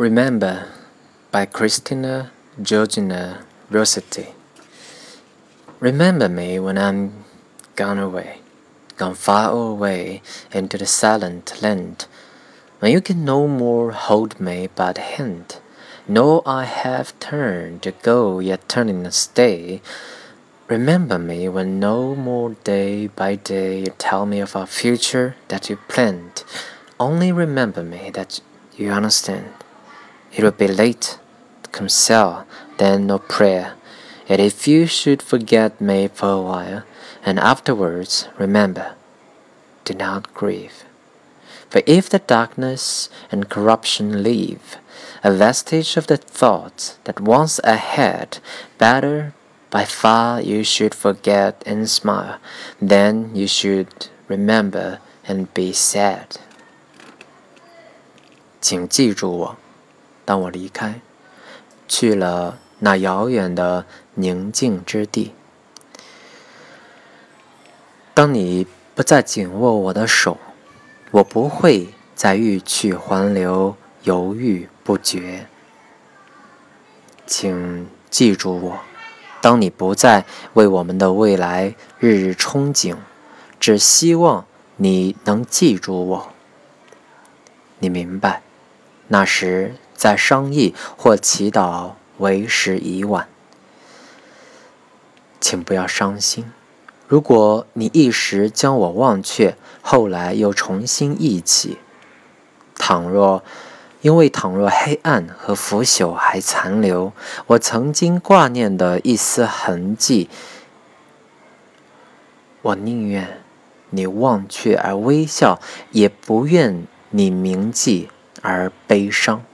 Remember by Christina Georgina Rossetti. Remember me when I'm gone away, gone far away into the silent land, when you can no more hold me by the hand, nor I have turned to go yet turning to stay. Remember me when no more day by day you tell me of our future that you planned. Only remember me that you understand. It will be late to console, then no prayer. Yet if you should forget me for a while, and afterwards remember, do not grieve. For if the darkness and corruption leave a vestige of the thoughts that once I had, better by far you should forget and smile, than you should remember and be sad. 请记住我，当我离开，去了那遥远的宁静之地。当你不再紧握我的手，我不会再欲去还留，犹豫不决。请记住我，当你不再为我们的未来日日憧憬，只希望你能记住我。你明白，那时再商议或祈祷为时已晚。请不要伤心，如果你一时将我忘却，后来又重新忆起，倘若黑暗和腐朽还残留，我曾经挂念的一丝痕迹，我宁愿你忘却而微笑，也不愿你铭记而悲伤。